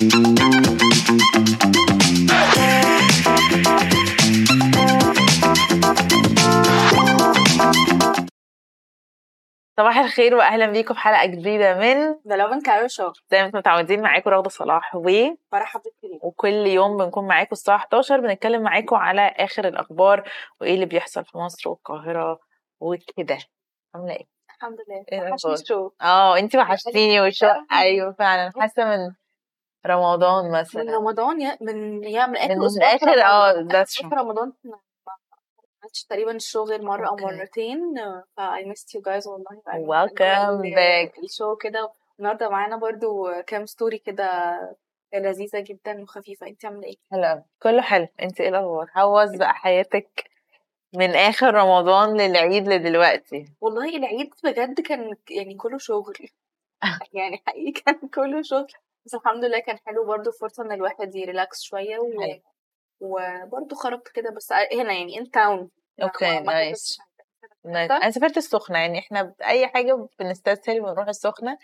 صباح الخير واهلا بيكم في حلقه جديده من The Love and Cairo Show. زي ما انتم متعودين معاكم رغده صلاح فرح عبد الكريم، وكل يوم بنكون معاكم الساعه 11 بنتكلم معاكم على اخر الاخبار وايه اللي بيحصل في مصر والقاهره وكده. عامله ايه؟ الحمد لله. ايه وحشني الاخبار؟ الشو. انتي وحشتيني والشو. ايوه فعلا حاسه من رمضان مثلا من رمضان من اخر من اسبوع في اخر رمضان. ده في رمضان ما عملتش تقريبا الشو غير مره او مرتين. I missed you guys والله. welcome back. الشو كده. النهارده معانا برضو كام ستوري كده لذيذه جدا وخفيفه. انت عامله ايه؟ حلو، كله حلو. انتي ايه الاخبار؟ حوز بقى حياتك من اخر رمضان للعيد لدلوقتي. والله العيد بجد كان يعني كله شغل. يعني حقيقي كان كله شغل، بس الحمد لله كان حلو برضو، فرصه ان الواحد يريلاكس شويه وبرضه خرجت كده بس هنا يعني ان تاون. اوكي نايس. انا سافرت السخنه، يعني احنا اي حاجه بنستسهل ونروح السخنه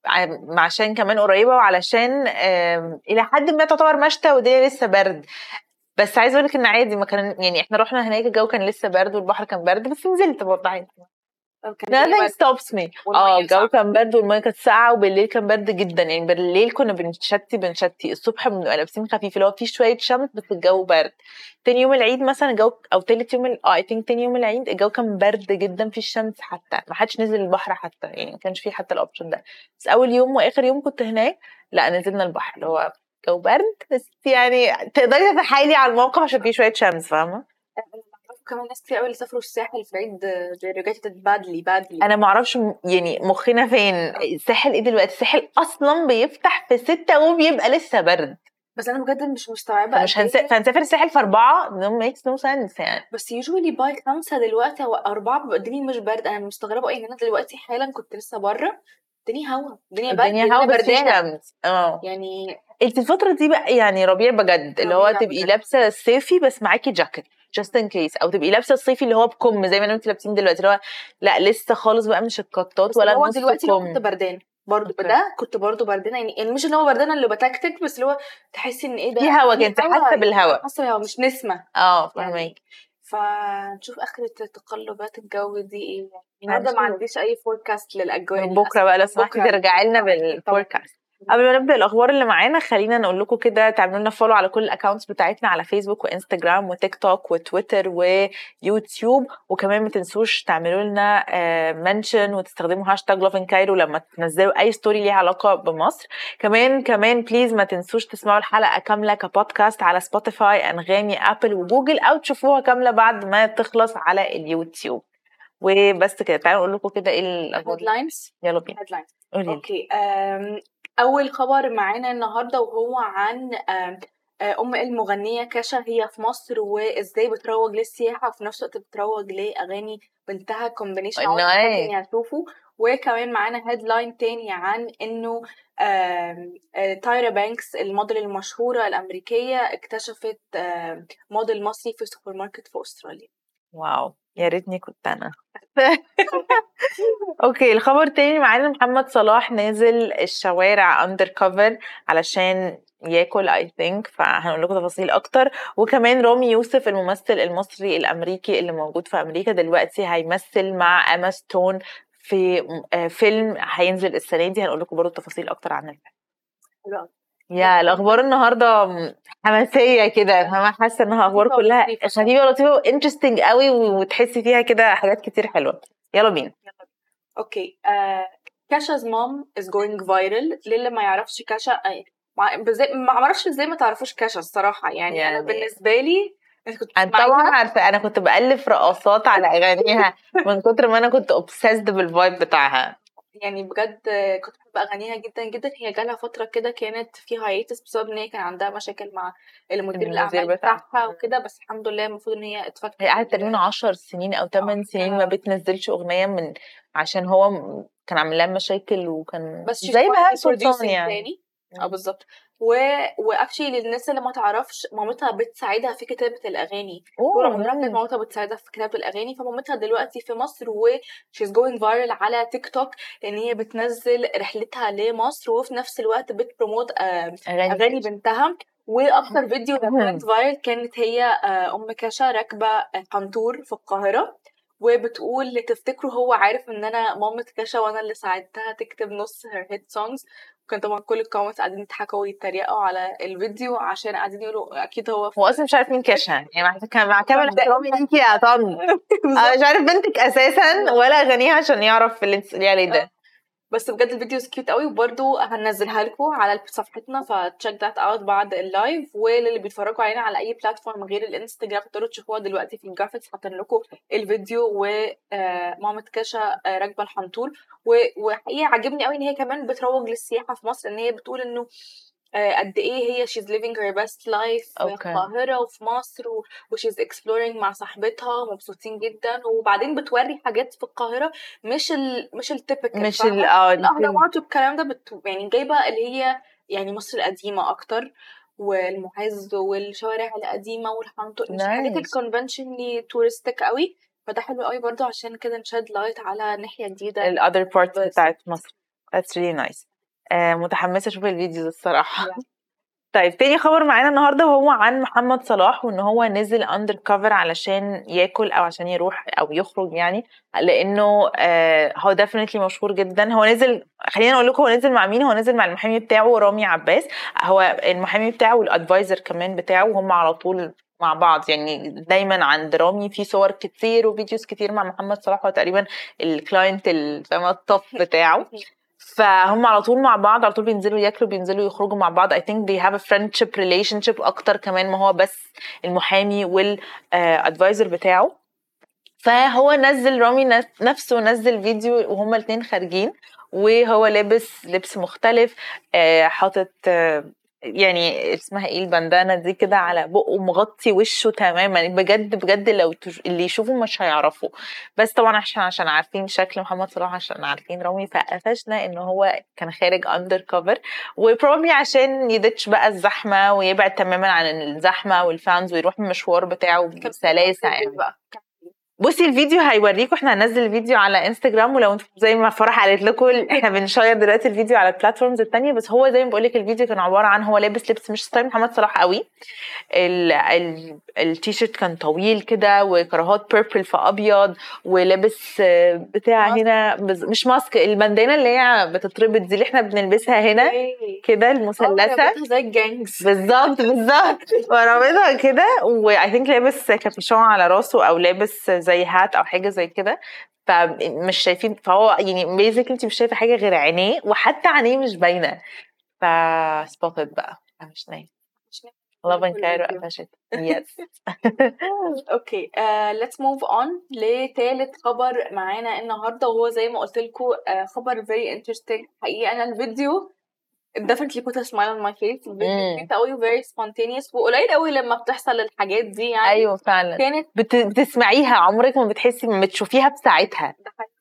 عشان كمان قريبه وعلشان الى حد ما تعتبر مشتى والدنيا لسه برد. بس عايزه اقول لك ان عادي، ما كان يعني احنا رحنا هناك الجو كان لسه برد والبحر كان برد، بس نزلت برضه عادي. nothing stops me. الجو كان برد والميه كانت ساقعه وبالليل كان برد جدا، يعني بالليل كنا بنشتي الصبح بنبقى لابسين خفيف اللي هو فيه شويه شمس بس الجو برد. تاني يوم العيد مثلا الجو او تالت يوم I think تاني يوم العيد الجو كان برد جدا في الشمس، حتى ما حدش نزل البحر حتى، يعني ما كانش فيه حتى الاوبشن ده. بس اول يوم واخر يوم كنت هناك لا نزلنا البحر اللي هو جو برد، بس يعني تقدري تتحايلي على الموقف عشان فيه شويه شمس، فاهمه؟ كمان ناس كتير قوي اللي سافروا الساحل في العيد رجعت بادلي. انا ما اعرفش يعني مخنا فين. الساحل ايه دلوقتي؟ الساحل اصلا بيفتح في 6 وبيبقى لسه برد، بس انا بجد مش مستوعبه مش هنسافر الساحل في 4 no makes no sense يعني. بس usually باي 5 دلوقتي او 4 بيبقى الدنيا مش برد. انا مستغربه ايه ان انا دلوقتي حالا كنت لسه بره الدنيا هوا، الدنيا هوا بس في بردانه شمس. يعني انت الفتره دي بقى يعني ربيع بجد اللي هو تبقي لابسه الصيفي بس معاكي جاكيت just in case، او تبقي لابسه الصيفي اللي هو بكم زي ما انتوا لابسين دلوقتي اللي هو لا لسه خالص بقى مش القطات ولا هو نص دلوقتي كم. كنت بردان برضو ده كنت برضو بردانه يعني مش اللي هو بردانه اللي بتكتك، بس اللي هو تحسي ان ايه ده في هوا، كنت حاسه بالهوا، حاسه بالهوا مش نسمه. فاهمك يعني. فنشوف اخرة تقلبات الجو دي ايه. النهارده ما عنديش اي فوركاست للاجواء من بكره بقى لو سمحتي ترجعي لنا بالفوركاست. قبل ما نبدا الاخبار اللي معانا خلينا نقول لكم كده تعملوا لنا فولو على كل الاكونتس بتاعتنا على فيسبوك وانستجرام وتيك توك وتويتر ويوتيوب، وكمان ما تنسوش تعملوا لنا منشن وتستخدموا هاشتاج @loveandcairo لما تنزلوا اي ستوري ليها علاقه بمصر. كمان بليز ما تنسوش تسمعوا الحلقه كامله كبودكاست على سبوتيفاي انغامي ابل وجوجل، او تشوفوها كامله بعد ما تخلص على اليوتيوب. وبس كده تعالوا نقول لكم كده ايه الهيدلاينز. يلا بينا. اوكي. اول خبر معانا النهارده وهو عن المغنيه كاشا. هي في مصر وازاي بتروج للسياحه وفي نفس الوقت بتروج لاغاني بنتها كومبينيشن ممكن هتشوفوا. وكمان معانا هيدلاين تاني عن انه تايرا بانكس الموديل المشهوره الامريكيه اكتشفت موديل مصري في سوبر ماركت في استراليا. واو يا ريتني كنت انا. اوكي الخبر تاني معانا محمد صلاح نازل الشوارع اندر كفر علشان ياكل I think، فهنقول لكم تفاصيل اكتر. وكمان رامي يوسف الممثل المصري الامريكي اللي موجود في امريكا دلوقتي هيمثل مع اما ستون في فيلم هينزل السنه دي، هنقول لكم برضه تفاصيل اكتر عن الفيلم. يا الاخبار النهارده حماسيه كده، فاهمه؟ حاسه انها اخبار كلها خفيفه ولطيفه وانترستنج قوي وتحسي فيها كده حاجات كتير حلوه. يلا بينا. اوكي. كاشا's mom is going viral. للي ما يعرفش كاشا ما اعرفش ازاي ما تعرفوش كاشا الصراحه يعني انا بالنسبه لي انا طبعا عارفه، انا كنت بألف رقصات على اغانيها من كتر ما انا كنت اوبسيسد بالفايب بتاعها يعني بجد كنت بحب اغانيها جدا جدا. هي جالها فتره كده كانت فيها هايتس بسبب ان هي كان عندها مشاكل مع المدير الاعمال بتاعها وكده، بس الحمد لله المفروض ان هي اتفكت. هي قعدت تقريبا 10 سنين او 8 سنين ما بتنزلش اغنيه عشان هو كان عامل لها مشاكل وكان بس زي بهاء سلطان يعني. بالظبط. واكشلي للناس اللي ما تعرفش، مامتها بتساعدها في كتابه الاغاني. طول عمرها كانت مامتها بتساعدها في كتابه الاغاني، فمامتها دلوقتي في مصر و she's going viral على تيك توك، لان هي بتنزل رحلتها لمصر وفي نفس الوقت بتبروموت اغاني بنتها. واكتر فيديو كانت فايرل كانت هي ام كاشا راكبه قنطور في القاهره، وبتقول تفتكروا هو عارف ان انا مامة كاشا وانا اللي ساعدتها تكتب نص her hit songs. كان طبعا كل الكومنتس قاعدين يضحكوا ويتريقوا على الفيديو عشان قاعدين يقولوا اكيد هو اصلا مش عارف مين كاشا، يعني مع كامل احترامي ليكي يا طن انا مش عارف بنتك اساسا ولا اغانيها عشان يعرف اللي انت عليه ده. بس بجد الفيديو كيوت قوي، وبرده هننزلها لكم على صفحتنا فتشيك ذات اوت بعد اللايف. وللي بيتفرجوا علينا على اي بلاتفورم غير الانستجرام تقدروا تشوفوها دلوقتي في الجرافيكس، حاطين لكم الفيديو ومامة كاشا راكبه الحنطور. وحقيقه عجبني قوي ان هي كمان بتروج للسياحه في مصر، ان هي بتقول انه قد ايه هي she's living her best life في القاهرة وفي مصر she's exploring مع صاحبتها مبسوطين جدا. وبعدين بتوري حاجات في القاهرة مش التيبيكال، مش الأهرامات والكلام ده، يعني جايبة اللي هي يعني مصر القديمة أكتر والمعز والشوارع القديمة والحنطور، مش حاجات الكونفنشنلي تورستيك قوي. فده حلو قوي برضو عشان كده نشد لايت على ناحية جديدة الother part بتاعت مصر. That's really nice. متحمسة اشوف الفيديو الصراحة. طيب تاني خبر معانا النهاردة وهو عن محمد صلاح، وان هو نزل اندر كفر علشان ياكل او عشان يروح او يخرج، يعني لانه هو definitely مشهور جدا. هو نزل، خلينا اقول لكم هو نزل مع مين. هو نزل مع المحامي بتاعه رامي عباس، هو المحامي بتاعه والادفايزر كمان بتاعه، وهم على طول مع بعض. يعني دايما عند رامي في صور كتير وفيديوز كتير مع محمد صلاح، هو تقريبا الكلاينت التوب بتاعه. فهم على طول مع بعض، على طول بينزلوا ياكلوا بينزلوا يخرجوا مع بعض. I think they have a friendship relationship اكتر كمان ما هو بس المحامي والادفايزر بتاعه. فهو نزل رامي نفسه نزل فيديو وهما الاثنين خارجين، وهو لابس لبس مختلف، حاطط يعني اسمها ايه البندانه دي كده على بقه، مغطي وشه تماما. بجد بجد لو اللي يشوفوا مش هيعرفوا، بس طبعا عشان عارفين شكل محمد صلاح، عشان عارفين رامي، فقفشنا ان هو كان خارج اندر كفر. وبروبلي عشان يدتش بقى الزحمه ويبعد تماما عن الزحمه والفانز ويروح المشوار بتاعه بسلاسه يعني. بصي الفيديو هيوريكم، احنا هننزل الفيديو على انستجرام، ولو انتم زي ما فرح قالت لكم احنا بنشير دلوقتي الفيديو على البلاتفورمز التانية. بس هو زي ما بقول لك الفيديو كان عباره عن هو لابس لبس مش ستايل محمد صلاح قوي. التيشيرت كان طويل كده وكراهات بيربل في ابيض، ولابس بتاع هنا مش ماسك، البندانه اللي هي بتتربط دي اللي احنا بنلبسها هنا كده المثلثه زي الجانجز بالظبط ورابطها كده. واي ثينك لابس كابيشون على راسه او لابس زي هات او حاجه زي كده، فمش شايفين. فهو يعني بيزيكلي انت مش شايفه حاجه غير عينيه، وحتى عينيه مش باينه. فسبوتد بقى مش نايم Love and Cairo قفشت. يس اوكي let's move on لثالث خبر معانا النهارده، وهو زي ما قلت لكم خبر very interesting. حقيقي انا الفيديو definitely put a smile on my face. الفيديو قوي very spontaneous، وقليل قوي لما بتحصل الحاجات دي يعني. ايوه فعلا كانت بتسمعيها عمرك ما بتحسي ما بتشوفيها بساعتها.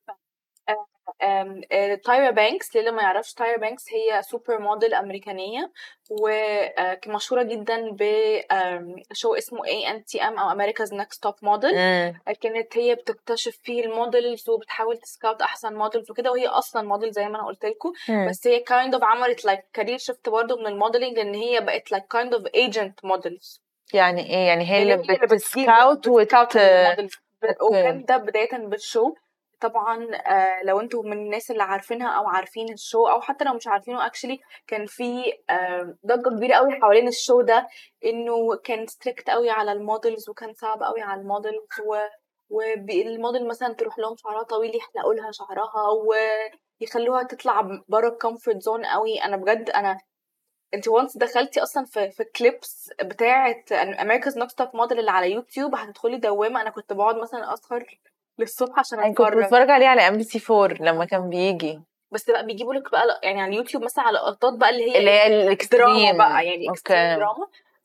تايرا بانكس، للي ما يعرفش تايرا بانكس هي سوبر موديل أمريكانية ومشهورة جدا بشو اسمه ANTM أو America's Next Top Model. كانت هي بتكتشف فيه الموديلز وبتحاول تسكاوت أحسن موديلز وكده، وهي أصلا موديل زي ما أنا قلت لكم. بس هي kind of عملت like career shift برضه من الموديلينج، لأن هي بقت like kind of agent models. يعني إيه؟ يعني هي اللي بتسكاوت وكان ده بداية بالشو. طبعا لو انتوا من الناس اللي عارفينها او عارفين الشو، او حتى لو مش عارفينه اكشلي كان في ضجه كبيره قوي حوالين الشو ده، انه كان ستريكت قوي على المودلز وكان صعب قوي على المودلز، والموديل مثلا تروح لهم شعرها طويل يحلقوا لها شعرها ويخلوها تطلع بره الكومفورت زون قوي. انا بجد انت وانس دخلتي اصلا في كليبس بتاعه America's Next Top Model اللي على يوتيوب هتدخلي دوامه. انا كنت بقعد مثلا اسهر للصبح عشان اتفرج. كنت بتفرج عليه على MBC4 لما كان بيجي، بس بقى بيجيبوا لك بقى يعني على اليوتيوب مثلا على لقطات بقى اللي هي الاكستريم بقى، يعني اكستريم دراما.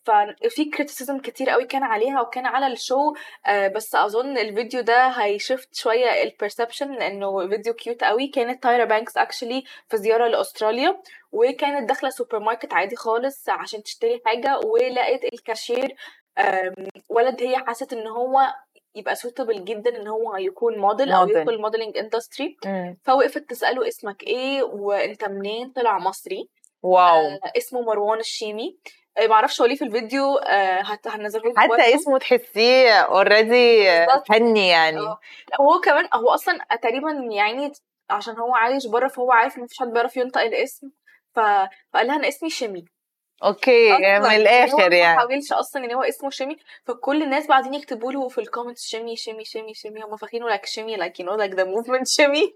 ففي كريتيسيزم كتير قوي كان عليها وكان على الشو. بس اظن الفيديو ده هيشفت شويه البرسبشن لانه فيديو كيوت قوي. كانت تايرا بانكس اكشلي في زياره لاستراليا، وكانت داخله سوبر ماركت عادي خالص عشان تشتري حاجه، ولقيت الكاشير ولد هي حست ان هو يبقى سوتبل جدا ان هو يكون موديل او يدخل الموديلنج اندستري. فوقفت تساله اسمك ايه وانت منين، طلع مصري. واو. اسمه مروان الشيمي. معرفش هو ليه في الفيديو هنزله لكم حتى اسمه تحسيه اوريدي فني يعني. هو كمان هو اصلا تقريبا يعني عشان هو عايش بره فهو عارف ان مفيش حد بيعرف ينطق الاسم، فقال لها انا اسمي شيمي. اوكي من الاخر يعني ما حاولش اصلا ان هو اسمه شيمي. فكل الناس بعدين يكتبوا له في الكومنتس شيمي شيمي شيمي شيمي، هم فاكرينه لايك شيمي لايك يو نو لايك ذا موفمنت شيمي.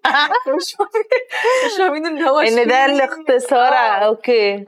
مش فاهمين ان هو ان ده الاختصار. اوكي.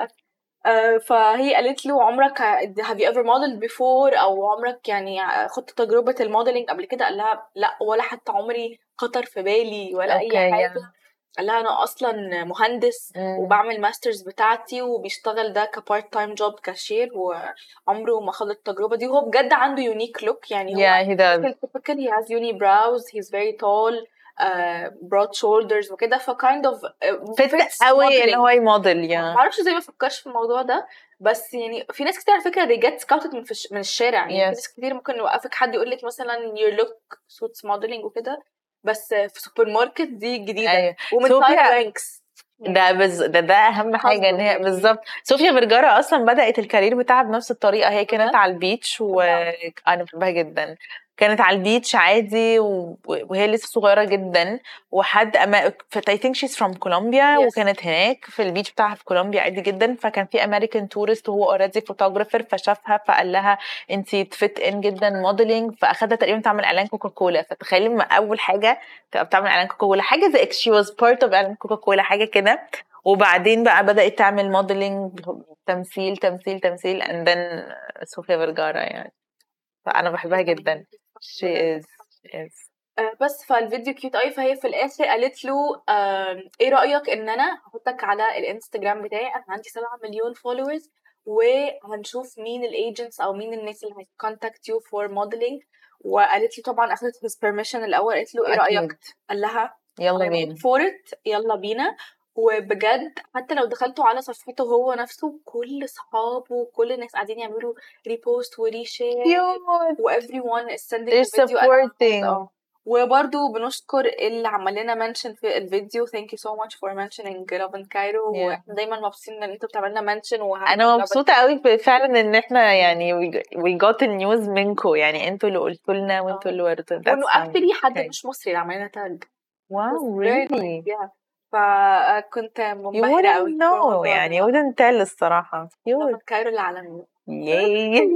فهي قالت له عمرك have you ever modeled before او عمرك يعني خدت تجربة الموديلنج قبل كده؟ قال لها لا، ولا حتى عمري خطر في بالي ولا اي حاجة. قال لها انا اصلا مهندس وبعمل ماسترز بتاعتي وبيشتغل ده كبارت تايم جوب كاشير، وعمره ما خد التجربة دي. وهو بجد عنده يونيك لوك يعني. هو typical he has uni brows, he's very tall, broad shoulders وكده. فكايند اوف فت قوي ان هو يموديل يعني. معرفش زي ما فكرش في الموضوع ده، بس يعني في ناس كتير على فكره they get scouted من الشارع يعني. في ناس كتير ممكن يوقفك حد يقول لك مثلا your look suits modeling وكده، بس في سوبر ماركت دي جديده. أيوة. ومن تايرا بانكس ده اهم حاجه ان هي بالظبط. صوفيا فيرجارا اصلا بدات الكارير بتاعها بنفس الطريقه. هي كانت على البيتش وانا بحبها جدا. كانت على البيتش عادي وهي لسه صغيره جدا. وحد I think she's from كولومبيا. وكانت هناك في البيتش بتاعها في كولومبيا عادي جدا. فكان في امريكان تورست وهو اوريدي فوتوغرافر فشافها فقال لها انتي تفت ان جدا موديلنج. فاخدها تقريبا تعمل اعلان كوكاكولا. فتخيلي ما اول حاجه تبقى بتعمل اعلان كوكاكولا حاجه زي she was part of اعلان كوكاكولا حاجه كده. وبعدين بقى بدات تعمل موديلنج تمثيل تمثيل تمثيل and then صوفيا فيرجارا يعني. فانا بحبها جدا. she is بس فالفيديو كيوت قوي. فهي في الاخر قالت له ايه رايك ان انا هحطك على الانستجرام بتاعي، انا عندي 7 مليون فولورز، وهنشوف مين الايجنتس او مين الناس اللي هيكونتاكت يو فور موديلنج. وقالت لي طبعا اخذت his permission الاول. قالت له ايه رايك؟ قال لها يلا بينا يلا بينا. وبجد حتى لو دخلتوا على صفحته هو نفسه كل اصحابه وكل الناس قاعدين يعملوا ريبوست وريشير و everyone is sending the video. وبرضو بنشكر اللي عمل لنا منشن في الفيديو. thank you so much for mentioning Love in Cairo. واحنا دايما مبسوطين ان انتوا بتعملوا لنا منشن. انا مبسوطه قوي فعلا ان احنا يعني we got the news منكم يعني. انتوا اللي قلتوا لنا وانتوا اللي وريتونا. وانه اكتلي حد مش مصري اللي عمل لنا تاج. واو really. فكنت منبهره قوي. يعني wouldn't tell الصراحه. Love in Cairo العالميه. ياي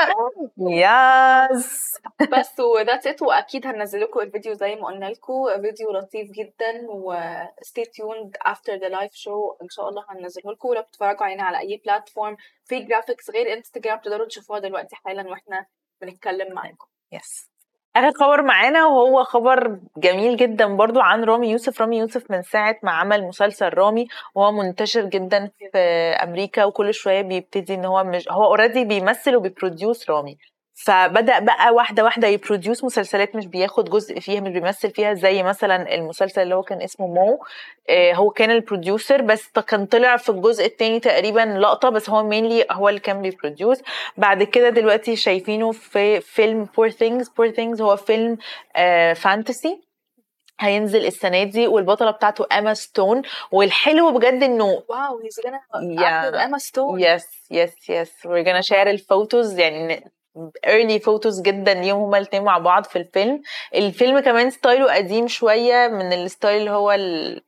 ياس. بس وذاتس ات. واكيد هننزل لكم الفيديو زي ما قلنا لكم، فيديو لطيف جدا. و stay tuned after the live show ان شاء الله هننزله لكم. ولو بتتفرجوا علينا على اي بلاتفورم في جرافيكس غير انستجرام تقدروا تشوفوها دلوقتي حالا واحنا بنتكلم معاكم. يس. اخر خبر معانا وهو خبر جميل جدا برضو عن رامي يوسف. رامي يوسف من ساعة ما عمل مسلسل رامي وهو منتشر جدا في امريكا، وكل شوية بيبتدي ان هو مش هو اوريدي بيمثل وبيبروديوس رامي. فبدأ بقى واحدة واحدة يبروديوس مسلسلات مش بياخد جزء فيها مش بيمثل فيها. زي مثلا المسلسل اللي هو كان اسمه مو، هو كان البروديوسر بس كان طلع في الجزء الثاني تقريبا لقطة بس هو مينلي هو اللي كان بيبروديوس. بعد كده دلوقتي شايفينه في فيلم Poor Things هو فيلم فانتسي هينزل السنة دي والبطلة بتاعته أما ستون. والحلو بجد انه واو he's gonna act with Emma Stone. yes we're gonna share الفوتوز يعني early photos جدا ليهم هما الاتنين مع بعض في الفيلم. الفيلم كمان ستايله قديم شوية من الستايل اللي هو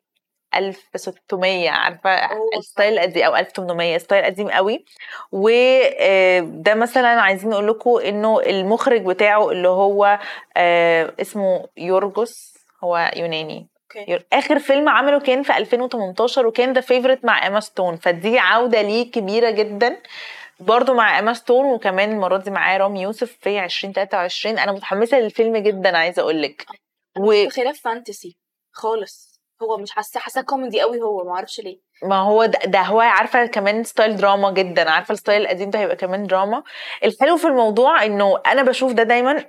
1600 عارفة الستايل القديم أو 1800 ستايل قديم قوي. وده مثلا عايزين نقول لكم انه المخرج بتاعه اللي هو اسمه يورجوس هو يوناني. اخر فيلم عمله كان في 2018 وكان ده فيفورت مع اما ستون. فدي عودة ليه كبيرة جدا برضو مع اما ستون. وكمان المرة دي معاه رامي يوسف في 2023. انا متحمسة للفيلم جدا عايزة اقولك. خلاف فانتسي خالص هو مش حاسه كوميدي قوي، هو ما اعرفش ليه. ما هو ده هو عارفه كمان ستايل دراما جدا، عارفه الستايل القديم ده هيبقى كمان دراما. الحلو في الموضوع انه انا بشوف ده دايما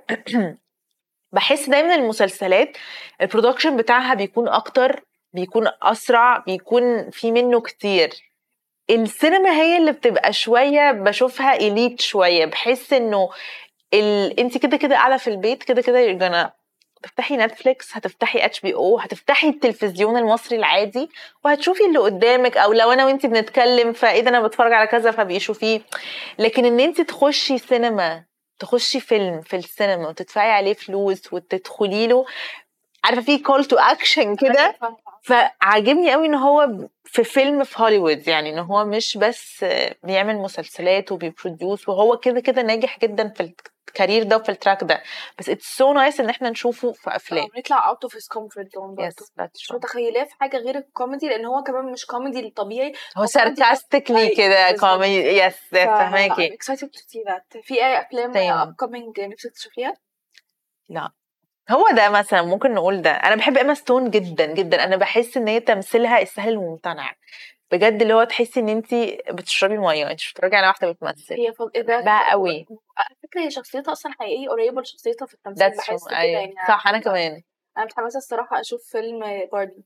بحس دايما المسلسلات البرودكشن بتاعها بيكون اكتر، بيكون اسرع، بيكون في منه كتير. السينما هي اللي بتبقى شويه بشوفها إليت شويه، بحس انه انت كده كده قاعده في البيت، كده كده يرجعنا هتفتحي نتفليكس، هتفتحي HBO، هتفتحي التلفزيون المصري العادي وهتشوفي اللي قدامك، او لو انا وانت بنتكلم فايه ده انا بتفرج على كذا فبيشوفيه. لكن ان انت تخشي سينما، تخشي فيلم في السينما وتدفعي عليه فلوس وتدخلي له، عارفه في كول تو اكشن كده. فعجبني قوي ان هو في فيلم في هوليوود، يعني ان هو مش بس بيعمل مسلسلات وبيبروديوس، وهو كده كده ناجح جدا في الكارير ده وفي التراك ده، بس اتس سو نايس ان احنا نشوفه في افلام. نطلع اوت اوف هيز كومفورت زون برضه. مش متخيلاه في حاجه غير الكوميدي، لان هو كمان مش كوميدي الطبيعي، هو ساركاستيكلي كده كوميدي. يس فاهماكي. اكسايتد تو سي ذات. في اي افلام ابكمينج نفسك تشوفيها؟ لا هو ده مثلا ممكن نقول ده. انا بحب ايما ستون جدا جدا، انا بحس ان هي تمثيلها السهل الممتنع بجد، اللي هو تحسي ان انت بتشربي ميه، انت مش بتتفرجي على واحده بتمثل. هي بقى قوي على فكره، هي شخصيتها اصلا حقيقيه قريبه لشخصيتها في التمثيل، بحس كده يعني. صح انا كمان. انا متحمسه الصراحه اشوف فيلم باربي.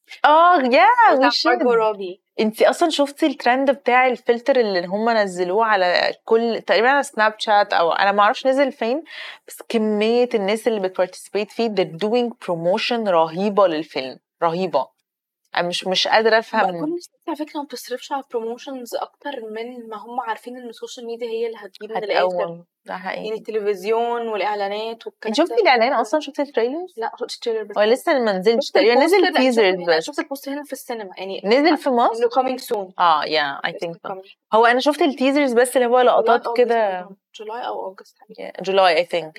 يا مارجو روبي. انتي اصلا شفتي الترند بتاع الفلتر اللي هم نزلوه على كل تقريبا على سناب شات، او انا ما اعرفش نزل فين، بس كميه الناس اللي بتبارتيسيبيت فيه they're doing promotion رهيبه للفيلم، رهيبه. انا مش قادره افهم. كل الناس على فكره ما بتصرفش على بروموشنز اكتر من ما هم عارفين ان السوشيال ميديا هي اللي هتجيب من الاخر. ده حقيقي. يعني التلفزيون والاعلانات والكلام ده. شفتي الاعلان اصلا؟ شفتي التريلر؟ لا شفت التريلر بس. هو لسه ما نزلش تقريبا، نزل تيزرز بس. شفت البوست هنا في السينما يعني، نزل في مصر انه coming soon. I think so. هو انا شفت التيزرز بس اللي هو لقطات كده. جولاي او اوغست. جولاي I think.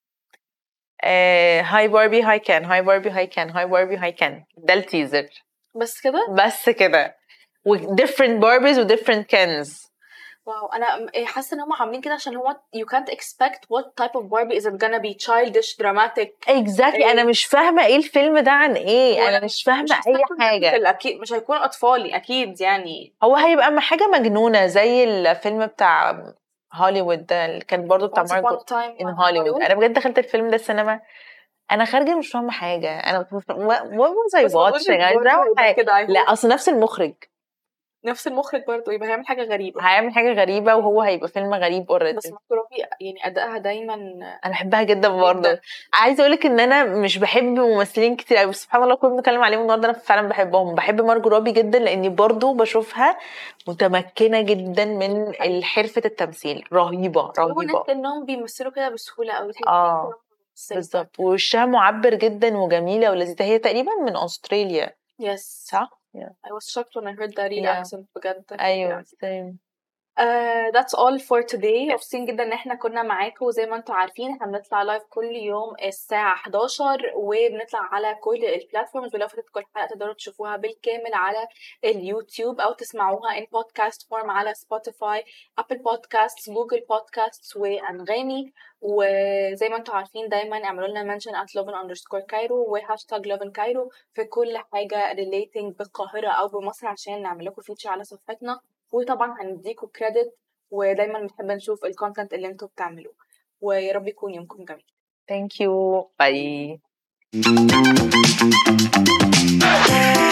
هاي باربي هاي كان، هاي باربي هاي كان، هاي باربي هاي كان، ده التيزر بس كده و different Barbies و different Kens. واو، انا حاسه ان هم عاملين كده عشان هو you can't expect what type of Barbie is it gonna be, childish, dramatic. exactly. انا مش فاهمه ايه الفيلم ده عن ايه، انا مش فاهمه اي حاجه. اكيد مش هيكون اطفالي اكيد يعني، هو هيبقى حاجه مجنونه زي الفيلم بتاع هوليوود ده اللي كان برضو بتاع مارجو ان هوليوود. انا بجد دخلت الفيلم ده السينما، انا خارجه مش فاهمه حاجه، انا what was I watching لا اصل نفس المخرج برضه، يبقى هيعمل حاجه غريبه وهو هيبقى فيلم غريب اوريدي. بس مارجو يعني ادائها دايما انا بحبها جدا برضه. عايزه اقولك ان انا مش بحب ممثلين كتير قوي، سبحان الله كنا بنتكلم عليهم النهارده، انا فعلا بحبهم. بحب مارجو روبي جدا لاني برضه بشوفها متمكنه جدا من حرفه التمثيل، رهيبه الناس انهم بيمثلوا كده بسهوله قوي. بالظبط، ووشها معبر جدا وجميله ولذيذه. هي تقريبا من استراليا. صح. I was shocked when I heard that accent بجد. ايوه same. That's all for today. مبسوطين جدا ان احنا كنا معاكم. زي ما انتم عارفين احنا بنطلع لايف كل يوم الساعة 11 وبنطلع على كل البلاتفورمز، ولو فاتت كل حلقة تقدروا تشوفوها بالكامل على اليوتيوب او تسمعوها in podcast form على سبوتيفاي، ابل بودكاست، جوجل بودكاست وانغامي. وزي ما انتم عارفين دايما اعملوا لنا mention at lovin_cairo وهاشتاج lovin_cairo في كل حاجة relating بالقاهرة او بمصر عشان نعمل لكم فيتشر على صفحتنا، وطبعا هنديكوا كريدت، ودايما بنحب نشوف الكونتنت اللي انتوا بتعملوه. ويا رب يكون يومكم جميل. Thank you. Bye.